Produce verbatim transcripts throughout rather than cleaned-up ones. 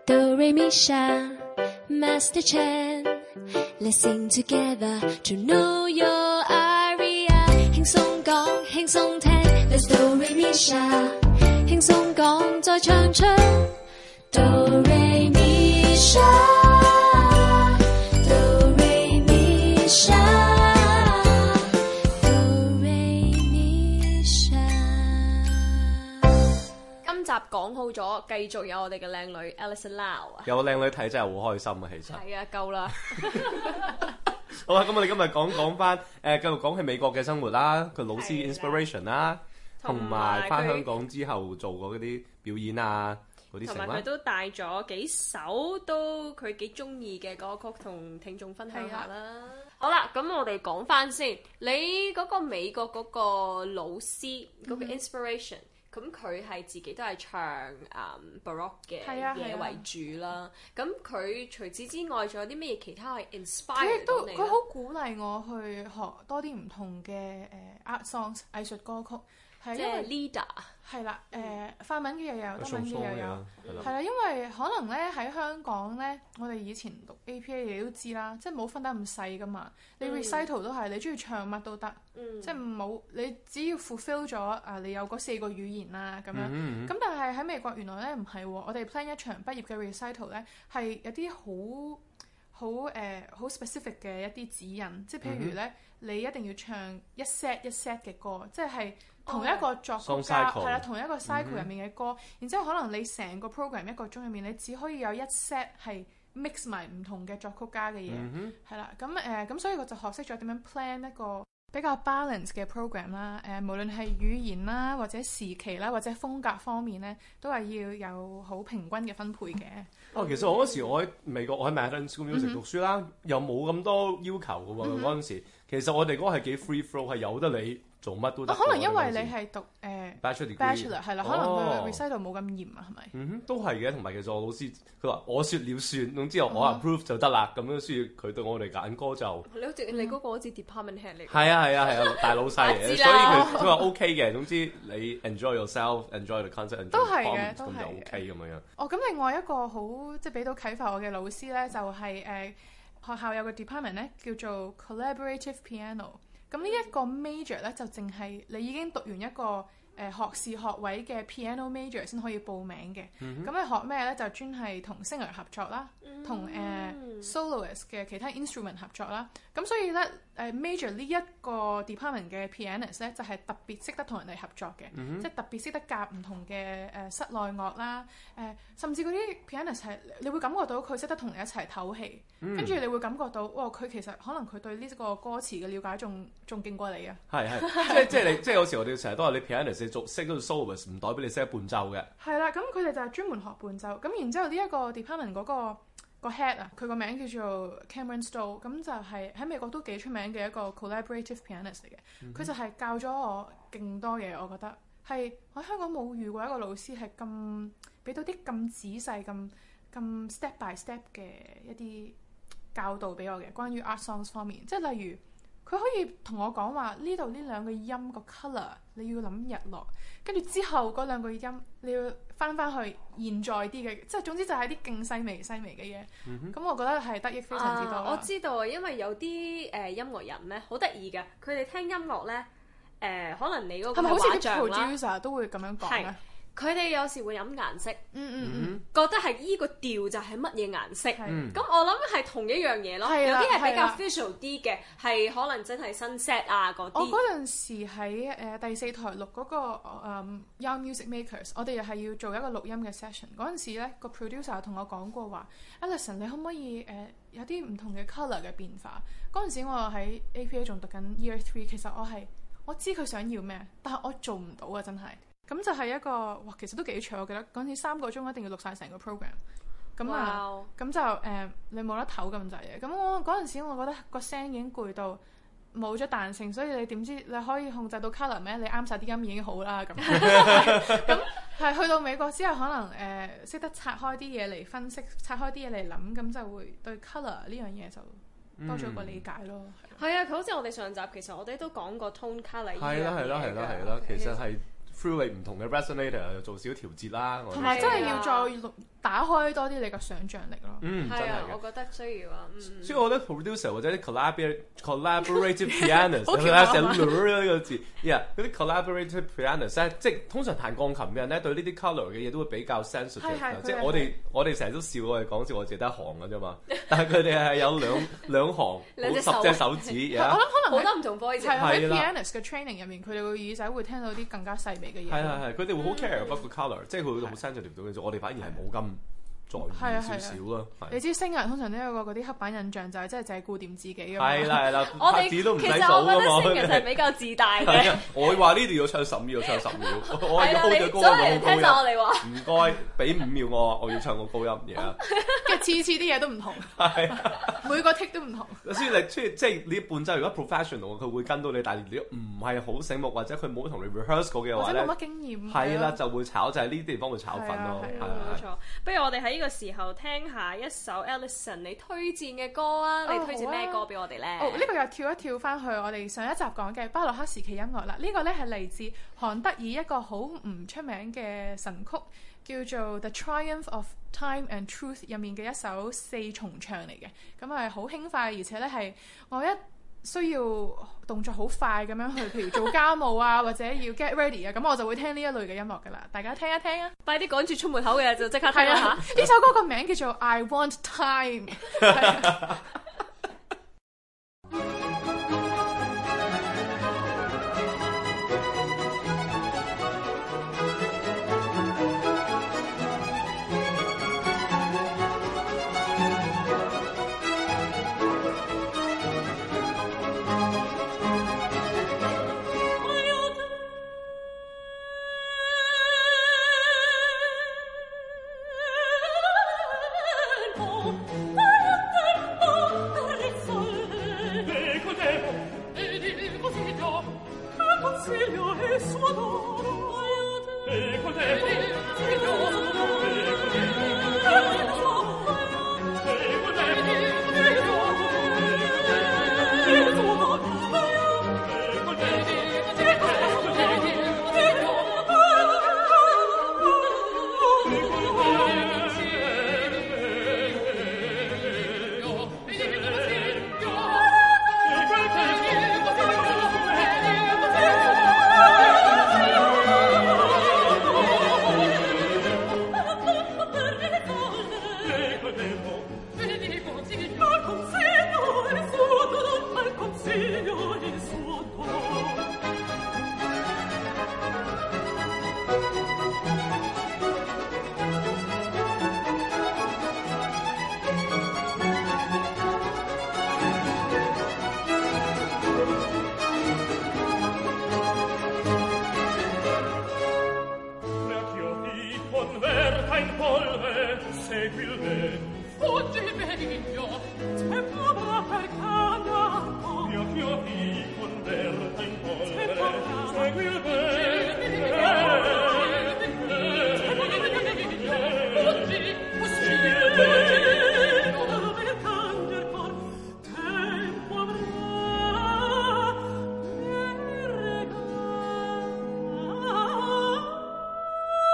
Do Re Mi Sha Master Chan Let's sing together to know your aria 輕鬆講輕鬆聽 Let's Do Re Mi Sha 輕鬆講再唱出 Do Re Mi Sha Do Re Mi Sha Do Re Mi Sha 今集講好咗，繼續有我哋嘅靚女 Alison Lau 啊！ 有靚女睇真係好開心啊，其實。 係啊，夠啦。 好啦，咁我哋今日講講翻誒，繼續講起美國嘅生活啦，佢老師 inspiration 啦，同埋翻香港之後做過嗰啲表演啊，嗰啲成啦。 同埋佢都帶咗幾首都佢幾中意嘅歌曲同聽眾分享下啦。好啦，咁我哋講翻先，你嗰個美國嗰個老師嗰、嗰個 inspiration。咁佢係自己都係唱誒、um, Baroque 嘅嘢為主啦。咁佢、啊、除此之外，仲有啲咩嘢其他係 inspire 到你咧？ 佢好鼓勵我去學多啲唔同嘅誒、呃、art songs 藝術歌曲，係因為 leader 係啦誒法文嘅又有，德文嘅又有，係啦。因為可能咧喺香港咧，我哋以前讀 A P A 你都知啦，即係冇分得咁細噶嘛。你 recital 都係你中意唱乜都得，嗯、即係冇你只要 fulfill 咗啊，你有嗰四個語言啦咁樣。咁、嗯嗯、但係喺美國原來咧唔係喎，我哋 plan 一場畢業嘅 recital 咧係有啲好好誒好 specific 嘅一啲指引，即係譬如咧、嗯、你一定要唱一 set 一 set 嘅歌，即係同一個作曲家係啦、oh. 同一個 cycle 入面嘅歌，嗯、然之後可能你成個 program 一個鐘入面，你只可以有一 set 係 mix 埋唔同嘅作曲家嘅嘢，係啦、嗯，咁誒咁所以我就學識咗點樣 plan 一個比較 balance 嘅 program 啦，誒、呃、無論係語言啦，或者時期啦，或者風格方面咧，都係要有好平均嘅分配嘅。 哦，其實我嗰時我喺美國，我喺 Manhattan School Music 讀書啦，嗯、又冇咁多要求嘅喎。嗰陣時其實我哋嗰個係幾 free flow， 係由得你做乜都得、哦。可能因為你係讀誒、呃、bachelor 係啦，可能佢 recital 冇咁嚴啊，係咪？ 嗯哼，都係嘅。同埋其實我老師佢話我説了算，總之我 approve 就得啦。咁樣所以佢對我哋揀歌就你好似你嗰個好似 department head 嚟。 係啊係啊係啊，大老細嚟嘅，所以佢佢話 OK 嘅。總之你 enjoy yourself，enjoy the concert，enjoy the performance 咁就 OK 咁樣。 哦，咁另外一個好即係俾到啟發我嘅老師咧，就係、是、誒、呃、學校有個 department 咧叫做 collaborative piano。咁呢一個 major 咧就淨係你已經讀完一個誒、呃、學士學位嘅 piano major 先可以報名嘅。咁、嗯、你學咩咧？就專係同 singer 合作啦，同誒、嗯呃、soloist 嘅其他 instrument 合作啦。咁所以咧誒、呃、major 呢一個 department 嘅 pianist 咧就係、是、特別識得同人哋合作嘅，嗯、即係特別識得夾唔同嘅誒、呃、室內樂啦，誒、呃、甚至嗰啲 pianist 係你會感覺到佢識得同你一齊唞氣，跟住、嗯、你會感覺到哇佢其實可能佢對呢個歌詞嘅了解仲仲勁過你啊！係係，即係即係你即係有時我哋成日都話你 pianist 你做識嗰個 soloist 唔代表你識得伴奏嘅。係啦，咁佢哋就係專門學伴奏，咁然之後呢一個 department 嗰、嗰個。個 head 啊，佢個名叫做 Cameron Stowe，咁就係喺美國都幾出名嘅一個 collaborative pianist 嚟嘅。佢、mm hmm. 就係教咗我勁多嘢，我覺得係我喺香港冇遇過一個老師係咁俾到啲咁仔細、咁咁 step by step 嘅一啲教導俾我嘅，關於 art songs 方面，即係例如。佢可以同我講話呢度呢兩個音個 colour 你要諗日落，跟住之後嗰兩個音你要翻翻去現在啲嘅，即係總之就係啲勁細微細微嘅嘢。咁、嗯、哼我覺得係得益非常之多、啊。 我知道，因為有啲誒、呃、音樂人咧好得意嘅，佢哋聽音樂咧誒、呃，可能你嗰個畫像啦， 係咪好似啲 producer 都會咁樣講咧？ 佢哋有時會飲顏色， 嗯嗯嗯， 覺得係依個調就係乜嘢顏色，咁、 嗯、 我諗係同一樣嘢咯。有啲係比較 visual 啲嘅，係可能真係 sunset 啊嗰啲。 我嗰陣時喺誒、呃、第四台錄嗰、那個、呃、Young Music Makers， 我哋又係要做一個錄音嘅 session。嗰陣時咧，個 producer 同我講過話 ，Alison 你可唔可以誒、呃、有啲唔同嘅 colour 嘅變化？嗰陣時我喺 A P A 仲讀緊 Year Three， 其實我係我知佢想要咩，但係我做唔到啊，真係。咁就係一個哇，其實都幾長，我記得嗰陣時三個鐘一定要錄晒成個 program。咁啊，咁 Wow. 就誒、呃，你冇得唞咁滯嘅。咁我嗰陣時，我覺得個聲已經攰到冇咗彈性，所以你點知你可以控制到 colour 咩？你啱晒啲音已經好啦咁。咁係去到美國之後，可能誒識、呃、得拆開啲嘢嚟分析，拆開啲嘢嚟諗，咁就會對 colour 呢樣嘢就多咗個理解咯。係、 嗯、啊，佢好似我哋上集其實我哋都講過 tone colour 呢樣嘢。 係啦係啦係啦係啦，其實係。 through 你唔同嘅 resonator 又做少調節啦。 同埋真係要再打開多啲你嘅想像力咯。 嗯，真係嘅。 我覺得需要啊。嗯、 所以我覺得 producer 或者啲 collaborative collaborative pianist， 我寫呢個字 ，yeah 嗰啲 collaborative pianist 咧，即係通常彈鋼琴嘅人咧，對呢啲 colour 嘅嘢都會比較 sensitive。即係我哋我哋成日都笑我哋講笑，我哋得一行嘅啫嘛。但係佢哋係有兩兩行，好十隻手指。 我諗可能好多唔同 voice。 係喺 pianist 嘅 training 入面，佢哋個耳仔會聽到啲更加細微嘅嘢。 係係係，佢哋會好 care about 個 colour，即係佢會好 sensitive 到嘅啫。我哋反而係冇咁在意少少咯。 你知星人通常都有個嗰啲刻板印象，就係真係淨係顧掂自己㗎嘛。 係啦係啦， 我哋其實我覺得星人係比較自大嘅。 我話呢度要唱十秒，唱十秒。我要 hold 住高音， 所以聽晒我哋話。 唔該，俾五秒我，我要唱個高音嘢。 跟住次次啲嘢都唔同，每個 tick 都唔同。 所以你即係即係你伴奏，如果 professional，佢會跟到你，但係你唔係好醒目，或者佢冇同你 rehearse 過嘅話咧， 或者冇乜經驗， 係啦，就會炒，就係呢啲地方會炒粉咯。係啊， 冇錯。不如我哋喺呢個時候聽下一首 Alison 你推薦嘅歌啊！你推薦咩歌俾我哋咧？ 哦，呢個又跳一跳翻去我哋上一集講嘅巴洛克時期音樂啦。呢個咧係嚟自韓德爾一個好唔出名嘅神曲，叫做《The Triumph of Time and Truth》入面嘅一首四重唱嚟嘅。咁係好輕快，而且咧係我一需要動作好快咁樣去，譬如做家務啊，或者要 get ready 啊，咁我就會聽呢一類嘅音樂噶啦。大家聽一聽啊！ 快啲趕住出門口嘅就即刻聽啦嚇！ 呢首歌個名叫做《I Want Time》。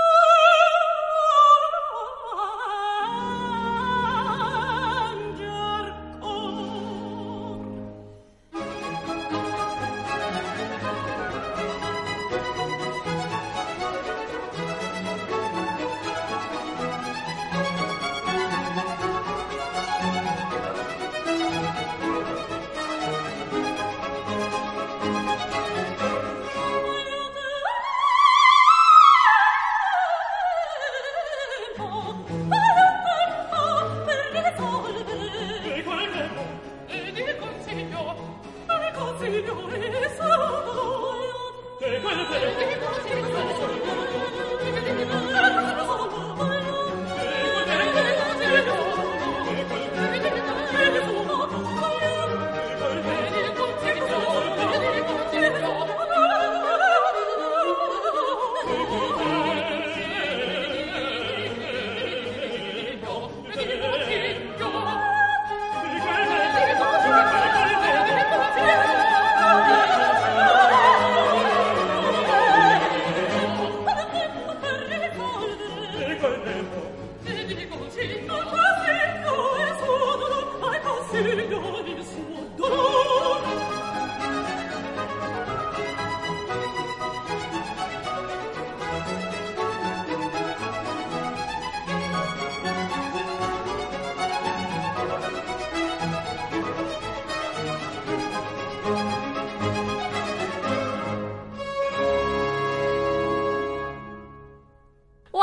Angel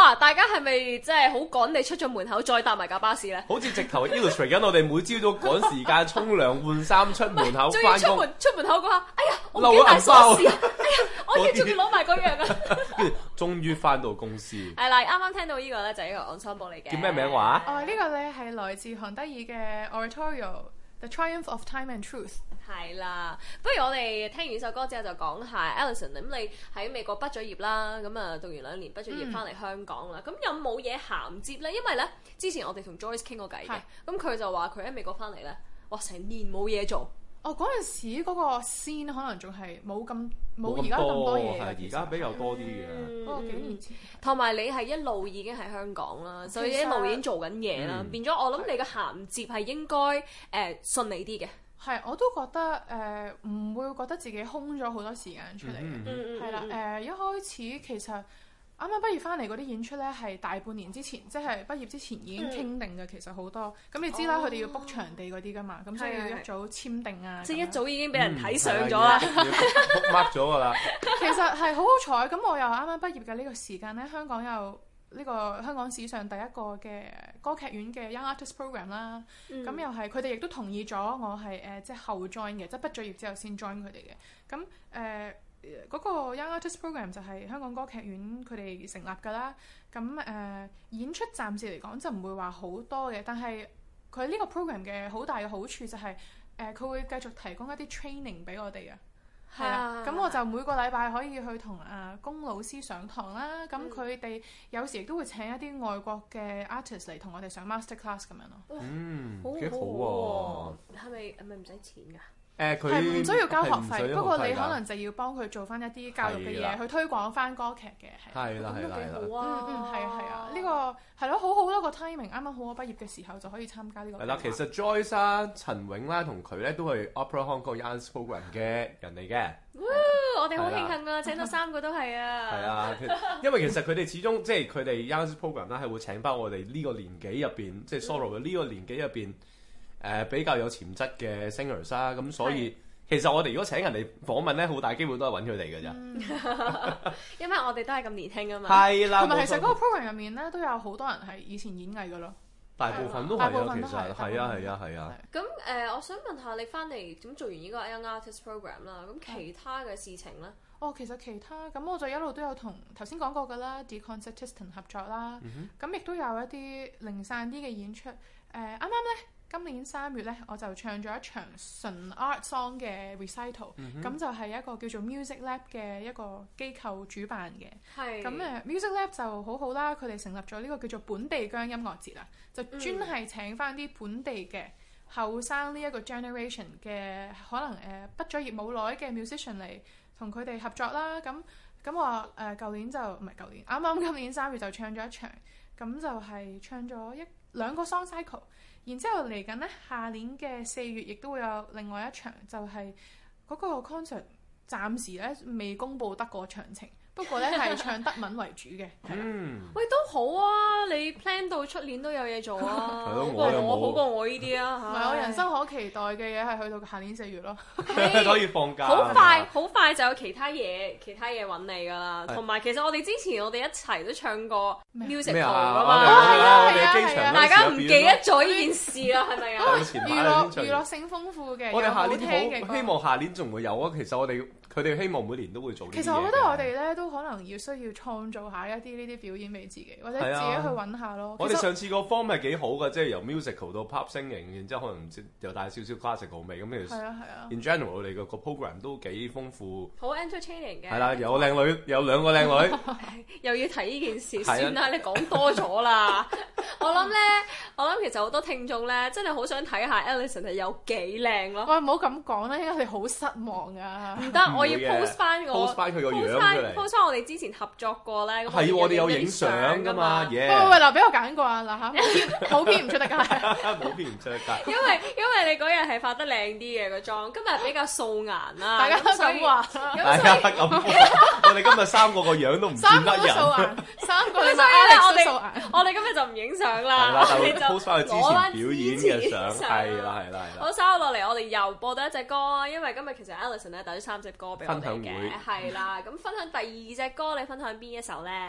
哇！大家係咪即係好趕地出咗門口，再搭埋架巴士咧？ 好似直頭 illustrate 緊我哋每朝早趕時間沖涼換衫出門口翻工。 出門出門口嗰下，哎呀，我唔記得帶鎖匙啊！哎呀，我而家仲要攞埋嗰樣啊！ 跟住終於翻到公司。 係啦，啱啱聽到呢個咧就係一個 ensemble 嚟嘅。 叫咩名話？ 哦，呢個咧係來自韓德爾嘅 Oratorio，The Triumph of Time and Truth。 係啦，不如我哋聽完呢首歌之後就講下 Alison， 咁你喺美國畢咗業啦，咁啊讀完兩年畢咗業翻嚟香港啦，咁、嗯、有冇嘢銜接咧？因為咧之前我哋同 Joyce 傾過偈嘅，咁佢就話佢喺美國翻嚟咧，哇成年冇嘢做。哦， 嗰陣時嗰個 scene 可能仲係冇咁冇而家咁多嘢， 係而家比較多啲嘅。 嗰個、嗯、幾年前， 同埋你係一路已經喺香港啦，所以一路已經做緊嘢啦，變咗我諗你嘅銜接係應該誒、呃、順利啲嘅。 係，我都覺得誒唔、呃、會覺得自己空咗好多時間出嚟嘅，係啦誒一開始其實啱啱畢業翻嚟嗰啲演出咧係大半年之前，即係畢業之前已經傾定嘅，嗯、其實好多咁你知啦，佢、哦、哋要 book 場地嗰啲噶嘛，咁所以要一早簽定啊， 即係一早已經俾人睇上咗啦 ，book mark 咗㗎啦。 其實係好好彩，咁我又啱啱畢業嘅呢個時間咧，香港又。呢個香港史上第一個嘅歌劇院嘅 Young Artist Program 啦，咁、嗯、又係佢哋亦都同意咗我係誒即係後 join 嘅，即係畢咗業之後先 join 佢哋嘅。咁誒嗰個 Young Artist Program 就係香港歌劇院佢哋成立㗎啦。咁誒、呃、演出暫時嚟講就唔會話好多嘅，但係佢呢個 program 嘅好大嘅好處就係誒佢會繼續提供一啲 training 俾我哋啊。係啊，咁我就每個禮拜可以去同啊龔老師上堂啦。咁佢哋有時亦都會請一啲外國嘅 artist 嚟同我哋上 master class 咁樣咯。 嗯，幾好喎！ 係咪係咪唔使錢㗎？ 誒，佢係唔需要交學費，不過你可能就要幫佢做翻一啲教育嘅嘢，去推廣翻歌劇嘅。 係啦，係啦，係啦。 嗯嗯，係啊係啊，呢個係咯，好好多個 timing，啱啱好我畢業嘅時候就可以參加呢個。 係啦，其實 Joyce 啦、陳永啦同佢咧都係 Opera Hong Kong Young Artist Program 嘅人嚟嘅。 我哋好慶幸啊，請到三個都係啊。係啊，因為其實佢哋始終即係佢哋 Young Artist Program 啦，係會請翻我哋呢個年紀入邊，即係 solo 嘅呢個年紀入邊誒比較有潛質嘅 singers 啦。咁所以其實我哋如果請人哋訪問咧，好大機會都係揾佢哋嘅咋。 嗯、因為我哋都係咁年輕啊嘛。 係啦，同埋其實嗰個 program 入面咧都有好多人係以前演藝嘅咯。 大部分都係啊，其實係啊係啊係啊。 咁誒、呃，我想問下你翻嚟點做完呢個 Young Artist Program 啦？咁其他嘅事情咧？ 哦，其實其他咁我就一路都有同頭先講過嘅啦 De Concertisten 合作啦。咁亦都有一啲零散啲嘅演出。誒啱啱咧。今年三月咧，我就唱咗一場純 art song 嘅 recital，咁、嗯、就係一個叫做 Music Lab 嘅一個機構主辦嘅。係。咁誒 Music Lab 就好好啦，佢哋成立咗呢個叫做本地姜音樂節啊，就專係請翻啲本地嘅後生呢一個 generation 嘅可能誒畢咗業冇耐嘅 musician 嚟同佢哋合作啦。咁咁我誒舊年就唔係舊年，啱啱今年三月就唱咗一場，咁就係唱咗一兩個 song cycle。然之後嚟緊咧，下年嘅四月亦都會有另外一場，就係、是、嗰個 concert 暫時咧未公佈得個詳情。不過咧係唱德文為主嘅。嗯， 喂都好啊，你 plan 到出年都有嘢做啊，好過我好過我呢啲啊。 唔係我人生可期待嘅嘢係去到下年四月咯， 可以放假。 好快好快就有其他嘢其他嘢揾你㗎啦。同埋其實我哋之前我哋一齊都唱過 musical 㗎嘛。 係啊係啊係啊！ 大家唔記得咗呢件事啦，係咪啊？ 娛樂娛樂性豐富嘅， 我哋下年好希望下年仲會有啊。其實我哋佢哋希望每年都會做呢啲嘢。 其實我覺得我哋咧都可能要需要創造下一啲呢啲表演俾自己，或者自己去揾下咯。 我哋上次個 form 係幾好嘅，即係由 musical 到 pop singing，然之後可能又帶少少 classical 味咁。其實係啊係啊。In general 我哋個個 program 都幾豐富， 好 entertaining 嘅。係啦，有靚女，有兩個靚女。 又要提呢件事，算啦，你講多咗啦。我諗咧，我諗其實好多聽眾咧，真係好想睇下 Alison 係有幾靚咯。 喂，唔好咁講啦，因為你好失望啊。 唔得，我要 post 翻我 post 翻佢個樣出嚟 post 翻我哋之前合作過咧。 係我哋有影相㗎嘛？ 喂喂喂，嗱，俾我揀過啊！嗱嚇，冇片唔出得街， 冇片唔出得街。 因為因為你嗰日係化得靚啲嘅個妝，今日比較素顏啦。 大家都咁話， 大家咁話。我哋今日三個個樣都唔見得人。 三個素顏，三個所以咧，我哋我哋今日就唔影相啦。 係啦，就 post 翻佢之前表演嘅相。係啦係啦係啦。 好，稍後落嚟，我哋又播到一隻歌，因為今日其實 Alison 咧帶咗三隻歌俾我哋嘅。係啦，咁分享第二隻歌，你分享邊一首咧？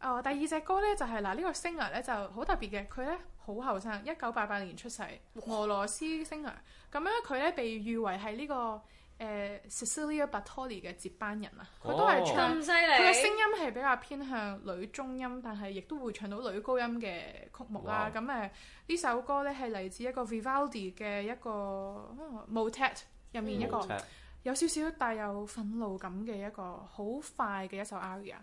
哦，第二隻歌咧就係、是、嗱，呢、這個 singer 咧就好特別嘅，佢咧好後生，一九八八年出世，俄羅斯 singer。咁樣佢咧被譽為係呢、這個誒、呃、Cecilia Bartoli 嘅接班人啊。佢都係唱， 咁犀利。 佢嘅聲音係比較偏向女中音，但係亦都會唱到女高音嘅曲目啦。咁誒呢首歌咧係嚟自一個 Vivaldi 嘅一個 Motet 入面一個有少少帶有憤怒感嘅一個好快嘅一首 aria。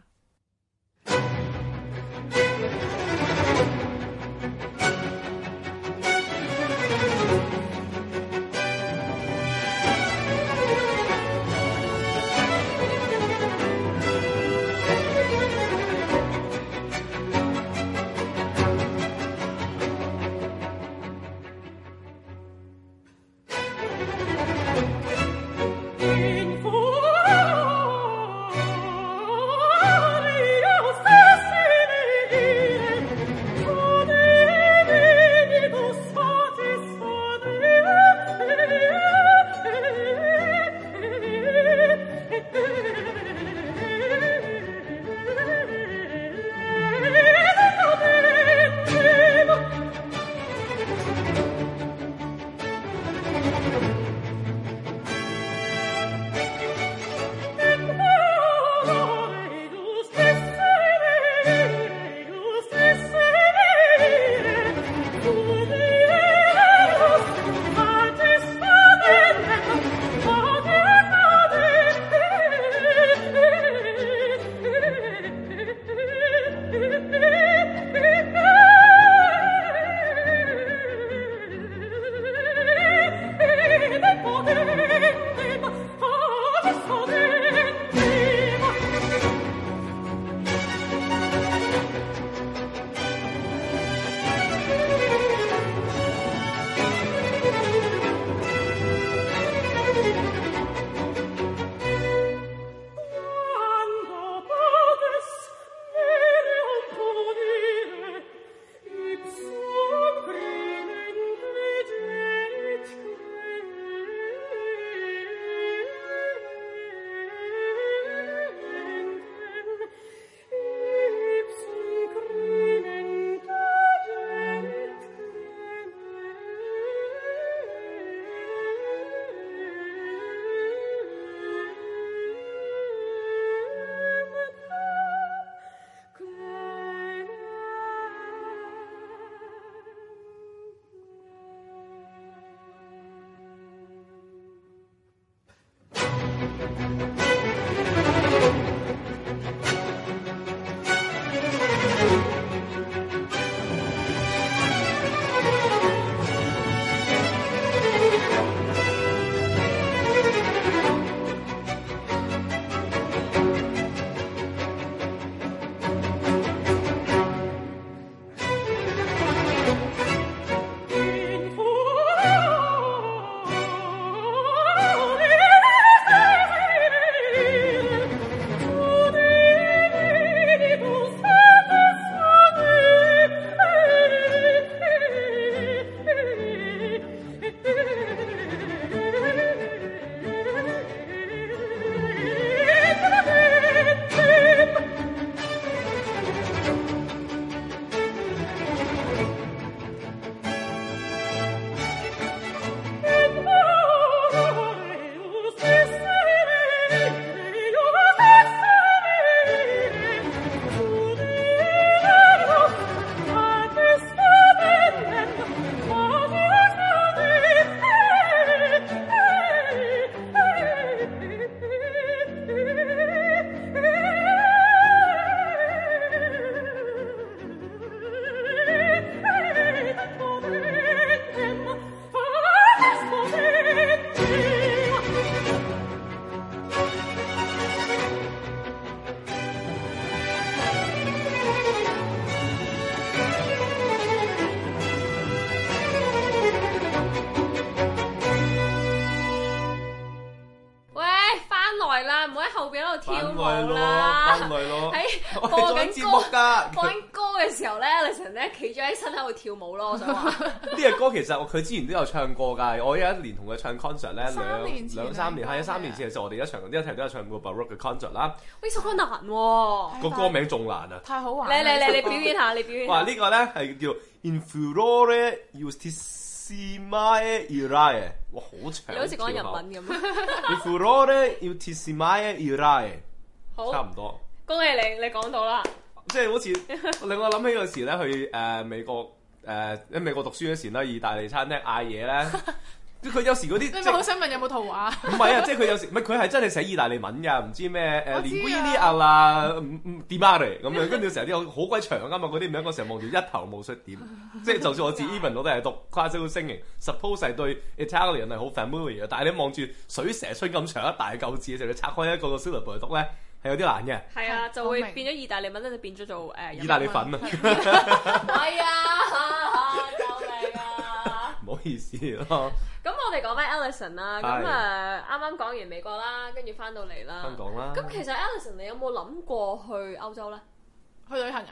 跳舞啦，喺播緊歌，播緊歌嘅時候咧 ，Alison 咧企咗喺身喺度跳舞咯，我想話。 呢隻歌其實佢之前都有唱過㗎，我有一年同佢唱 concert 咧，兩兩三年，係啊三年前嘅時候，我哋一場一齊都有唱過 Baroque 嘅 concert 啦。 呢首歌難喎， 個歌名仲難啊！ 太好玩！ 你你你你表演下，你表演下。 哇！呢個咧係叫 In furore justissime irae， 哇好長， 你好似講日文咁。 In furore justissime irae， 好， 差唔多。 恭喜你，你講到啦。 即係好似令我諗起嗰時咧去誒、呃、美國誒喺、呃、美國讀書嗰時咧，意大利餐廳嗌嘢咧，佢有時嗰啲你咪好想問有冇圖畫？ 唔係啊，即係佢有時唔係佢係真係寫意大利文㗎，唔知咩誒 linguini alla di mare 咁樣，跟住成日啲好鬼長㗎嘛，嗰啲名我成日望住一頭霧水點，即係就算我自 even 我都係讀 classical singing，suppose 係對 Italian 係好 familiar 嘅，但係你望住水蛇春咁長一大嚿字嘅時候，你拆開一個個 syllable 嚟讀咧。係有啲難嘅， 係啊，就會變咗意大利文咧，就變咗做誒、呃、 意大利粉啊！ 係啊，救命啊！ 唔好意思咯。 咁我哋講翻 Alison 啦，咁誒啱啱講完美國啦，跟住翻到嚟啦， 香港啦。 咁其實 Alison 你有冇諗過去歐洲咧？ 去旅行啊？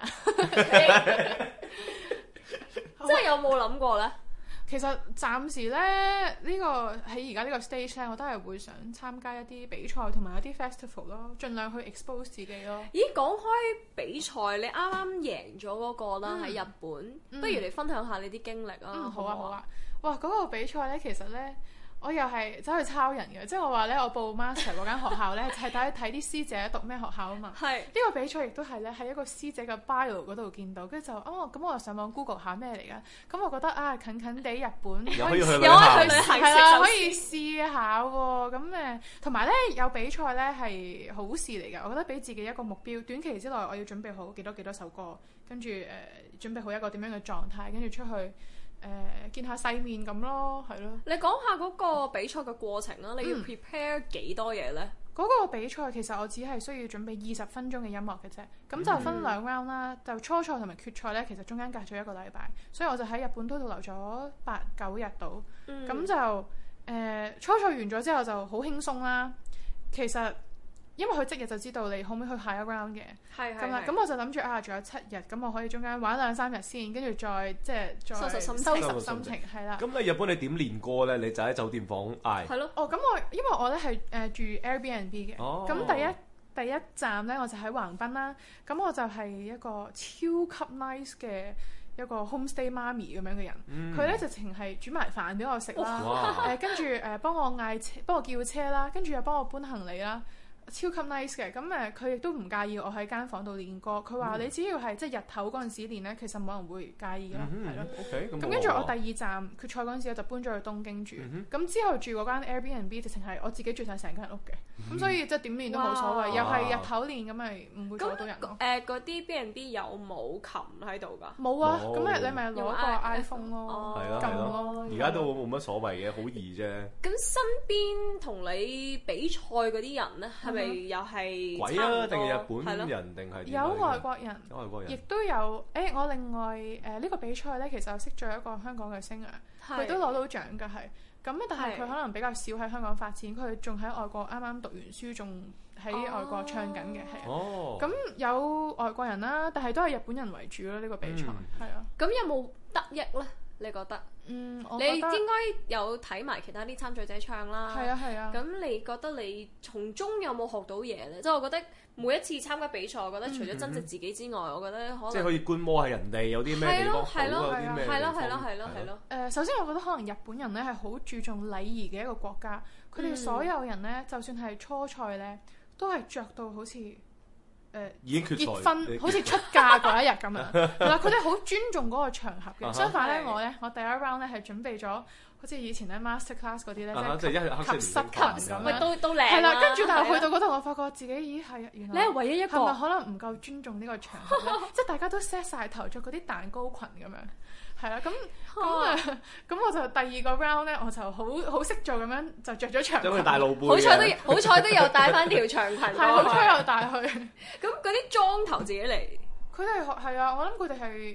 即係有冇諗過咧？ 其實暫時咧，呢、呢個喺而家呢個 stage 咧，我都係會想參加一啲比賽同埋一啲 festival 咯，盡量去 expose 自己咯。 咦，講開比賽，你啱啱贏咗嗰個啦喺、嗯、日本，嗯、不如你分享下你啲經歷啊、 嗯？好啊，好啊。 好哇，嗰、嗰個比賽咧，其實咧。我又係走去抄人嘅，即係我話咧，我報 master 嗰間學校咧，係睇睇啲師姐讀咩學校啊嘛。係。呢個比賽亦都係咧喺一個師姐嘅 bio 嗰度見到，跟住就哦，咁我就上網 Google 下咩嚟㗎？咁我覺得啊，近近地日本又可以去旅行，係啦，可以試下喎。咁誒，同埋咧有比賽咧係好事嚟㗎。我覺得俾自己一個目標，短期之內我要準備好幾多幾多首歌，跟住誒、呃、準備好一個點樣嘅狀態，跟住出去。誒、呃、見下世面咁咯，係咯。你講下嗰個比賽嘅過程啦，你要 prepare 幾多嘢呢？嗰、嗯、個比賽其實我只係需要準備二十分鐘嘅音樂嘅啫，咁就分兩 round 啦，嗯、就初賽同埋決賽呢，其實中間隔咗一個禮拜，所以我就喺日本都度留咗八九日到，咁、嗯、就誒、呃、初賽完咗之後就好輕鬆啦。其實因為佢即日就知道你可唔可以去下一 round 嘅，咁啦，咁我就諗住啊，仲有七日，咁我可以中間玩兩三日先，跟住再即係再收拾心情，收拾心情，係啦。咁喺日本你點練歌咧？你就喺酒店房嗌。係咯。哦，咁我因為我咧係誒住 Airbnb 嘅，咁、哦、第一第一站咧我就喺橫濱啦，咁我就係一個超級 nice 嘅一個 homestay 媽咪咁樣嘅人，佢咧、嗯、直情係煮埋飯俾我食啦，誒跟住誒幫我嗌車，幫我叫車啦，跟住又幫我搬行李啦。超級 nice 嘅，咁誒佢亦都唔介意我喺間房度練歌。佢話、嗯、你只要係即係日頭嗰陣時練咧，其實冇人會介意咯，係咯、嗯。OK，咁跟住我第二站決賽嗰陣時，我就搬咗去東京住。咁、嗯、之後住嗰間 Airbnb 直情係我自己住晒成間屋嘅，咁、嗯、所以即係點練都冇所謂。又係日頭練咁咪唔會阻到人咯。誒嗰啲 B and B 有冇琴喺度㗎？冇啊，咁誒你咪攞個 iPhone 咯，撳咯。而家都冇乜所謂嘅，好易啫。咁身邊同你比賽嗰啲人咧係？又係鬼啊？定係日本人定係有外國人？有外國人，亦都有。誒、欸，我另外誒呢、呃這個比賽咧，其實我識咗一個香港嘅 singer，佢都攞到獎㗎，係咁。但係佢可能比較少喺香港發展，佢仲喺外國啱啱讀完書，仲喺外國唱緊嘅，係、哦、啊。咁有外國人啦，但係都係日本人為主咯。呢、這個比賽係、嗯、啊。咁有冇得益咧？你覺得？嗯，我覺得你應該有睇埋其他啲參賽者唱啦。係啊，係啊。咁你覺得你從中有冇學到嘢咧？即係我覺得每一次參加比賽，我覺得除咗增值自己之外，嗯、我覺得可能即係可以觀摩下人哋有啲咩地方好，有啲咩地方。係咯，係咯，係咯，係咯。誒，首先我覺得可能日本人咧係好注重禮儀嘅一個國家，佢哋所有人咧，就算係初賽咧，都係着到好似。誒已經決賽結婚好似出嫁嗰一日咁樣，係啦，佢哋好尊重嗰個場合嘅。相反咧，我咧我第一 round 咧係準備咗，好似以前咧 master class 嗰啲咧，即係及膝裙咁，咪都都靚。係啦，跟住但係去到嗰度，我發覺自己咦係原來你係唯一一個，係咪可能唔夠尊重呢個場合咧？即係大家都 set 曬頭，着嗰啲蛋糕裙咁樣。係啦，咁咁誒，咁我就第二個 round 咧，我就好好識做咁樣，就着咗長裙。咁佢大露背。好彩都好彩都有帶翻條長裙。係好彩有帶去。咁嗰啲妝頭自己嚟。佢哋係啊，我諗佢哋係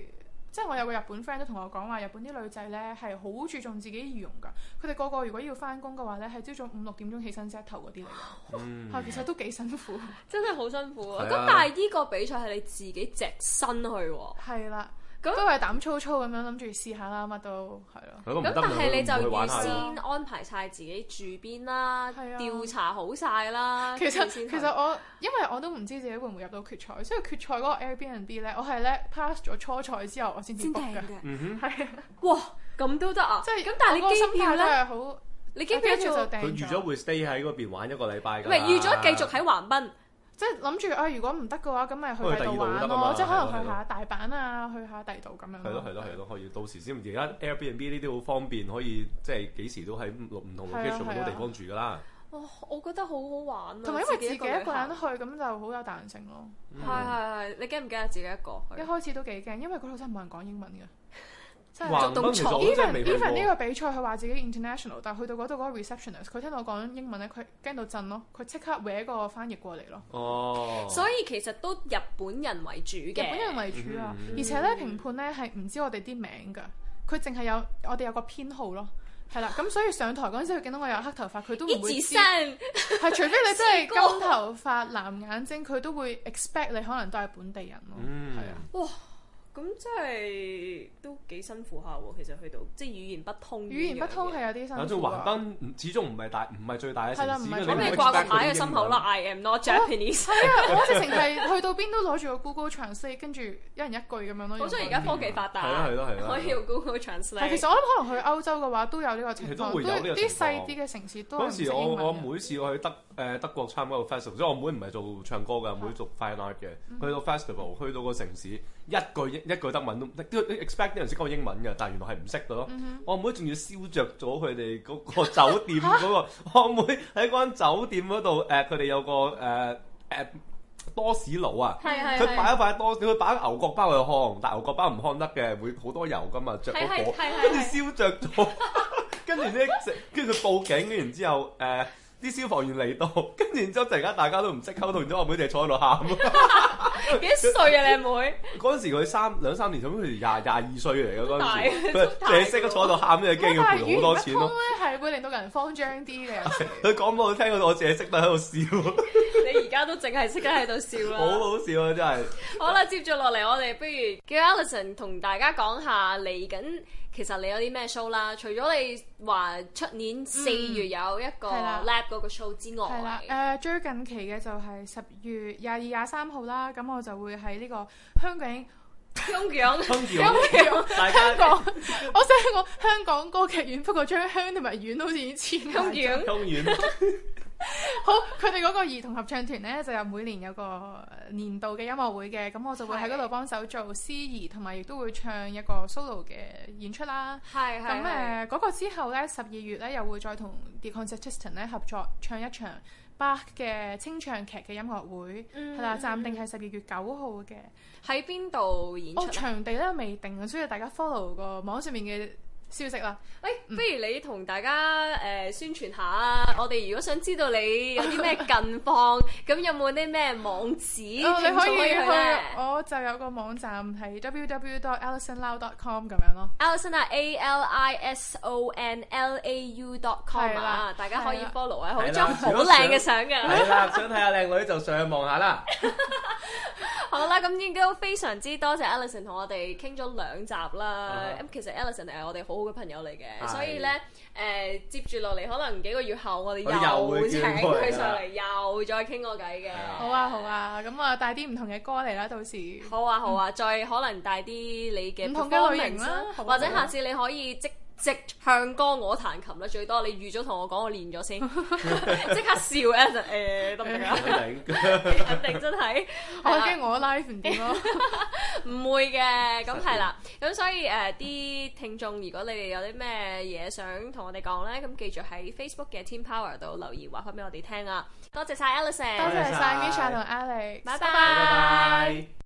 即係我有個日本 friend 都同我講話，日本啲女仔咧係好注重自己儀容㗎。佢哋個個如果要翻工嘅話咧，係朝早五六點鐘起身 set 頭嗰啲嚟㗎。嗯，係其實都幾辛苦， 真係好辛苦啊！咁但係呢個比賽係你自己隻身去喎。 係啦。咁都係膽粗粗咁樣諗住試下啦，乜都係咯。 咁但係你就預先安排晒自己住邊啦，調查好晒啦。 其實其實我因為我都唔知自己會唔會入到決賽，所以決賽嗰個 Airbnb 咧，我係咧 pass 咗初賽之後，我先至 book 嘅。 嗯哼，係啊。 哇，咁都得啊！ 即係咁，但係你機票咧， 係好， 你機票就訂咗。 佢預咗會 stay 喺嗰邊玩一個禮拜㗎。 唔係預咗繼續喺橫濱。 即係諗住啊，如果唔得嘅話，咁咪去第度玩咯。即係可能去下大阪啊，去下第度咁樣。 係咯係咯係咯，可以到時先。而家 Airbnb 呢啲好方便，可以即係幾時都喺唔同 location 好多地方住㗎啦。 哦，我覺得好好玩啊！ 同埋因為自己一個人去，咁就好有彈性咯。 係係係，你驚唔驚啊？自己一個去？ 一開始都幾驚，因為嗰度真係冇人講英文嘅。 橫濱其實我真係未去過。Even 呢個比賽佢話自己 international， 但係去到嗰度嗰個 receptionist， 佢聽到我講英文咧，佢驚到震咯，佢即刻搲個翻譯過嚟咯。 哦。 所以其實都日本人為主嘅。 日本人為主啊，嗯、而且咧評判咧係唔知我哋啲名㗎，佢淨係有我哋有個編號咯。係啦，咁所以上台嗰陣時，佢見到我有黑頭髮，佢都唔會知。係除非你真係金頭髮、藍眼睛，佢都會 expect 你可能都係本地人咯。 嗯， 係啊。 哇！咁真係都幾辛苦下喎，其實去到即係語言不通。語言不通係有啲辛苦。 反正橫濱始終唔係大，唔係最大嘅城市。 咁你掛個牌喺心口啦 ，I am not Japanese。 係啊，我直情係去到邊都攞住個 Google Translate， 跟住一人一句咁樣咯。 好彩而家科技發達， 係咯係咯係咯， 可以用 Google Translate。 其實我諗可能去歐洲嘅話都有呢個情況， 都會有呢個情況。 啲細啲嘅城市都係唔識英文。 嗰時我我妹試過去德誒德國參加個 festival，即係我妹唔係做唱歌嘅，妹做 fine art 嘅。去到 festival，去到個城市，一句一句德文都。都 expect 啲人識講英文嘅，但係原來係唔識嘅咯。Mm hmm. 我妹仲要燒着咗佢哋嗰個酒店嗰、嗰個，我妹喺嗰間酒店嗰度誒，佢、呃、哋有個誒誒、呃呃、多士爐啊，佢擺一塊多士，佢擺牛角包去烘，但牛角包唔烘得嘅，會好多油噶嘛，着嗰火，跟住燒着咗，跟住咧，跟住佢報警，跟住之後誒。呃啲消防員嚟到，跟住然之後突然間大家都唔識溝通，然之後我妹就坐喺度喊。 幾歲啊你阿妹？ 嗰陣時佢三兩三年，咁佢廿廿二歲嚟嘅嗰陣時，佢淨係識得坐喺度喊，跟住驚要賠好多錢咯。 係會令到人慌張啲嘅。 佢講俾我聽，我淨係識得喺度笑。 你而家都淨係識得喺度笑啦。 好好笑啊！真係。 好啦，接住落嚟，我哋不如叫 Alison 同大家講下嚟緊。其實你有啲咩 show 啦？除咗你話出年四月有一個 lab 嗰個 show 之外， 係啦，誒、呃、最近期嘅就係十月廿二、廿三號啦。咁我就會喺呢個香港香港香港香港，我想講香港歌劇院，不過將香同埋院好似以前香港香院。 好，佢哋嗰個兒童合唱團咧，就有每年有個年度嘅音樂會嘅，咁我就會喺嗰度幫手做司儀，同埋亦都會唱一個 solo 嘅演出啦。 係係。 咁誒嗰個之後咧，十二月咧又會再同 The Concertistas 咧合作唱一場巴嘅清唱劇嘅音樂會，係啦、嗯，暫定係十二月九號嘅。 喺邊度演出？ 哦，場地咧未定啊，所以大家 follow 個網上面嘅消息啦， 誒、欸，不如你同大家誒、呃、宣傳下啊！我哋如果想知道你有啲咩近況，咁有冇啲咩網址？ 哦，你可以去，我就有個網站係 w w w dot alison lau dot com 咁樣咯。 Alison 啊 ，A L I S O N L A U dot com 啊，大家可以 follow 啊，好張好靚嘅相嘅。 係啦，想睇下靚女就上去望下啦。 好啦，咁應該都非常之多謝 Alison 同我哋傾咗兩集啦。咁、uh huh. 其實 Alison 係我哋好好嘅朋友嚟嘅，uh huh. 所以咧誒、呃、接住落嚟，可能幾個月後我哋又請佢上嚟，又再傾個偈嘅。Uh huh. 好啊好啊，咁啊帶啲唔同嘅歌嚟啦，到時。 好啊好啊，嗯、再可能帶啲你嘅唔同嘅類型啦，或者下次你可以即。即唱歌我彈琴啦，最多你預咗同我講，我練咗先，即刻笑咧就誒得唔得啊？肯定真係， 我驚我 live 唔掂咯， 唔會嘅，咁係啦，咁所以誒啲、呃、聽眾，如果你哋有啲咩嘢想同我哋講咧，咁記住喺 Facebook 嘅 Team Power 度留言話翻俾我哋聽啊！多謝晒 Alison， 多謝晒 Misha 同 Alex， 拜拜。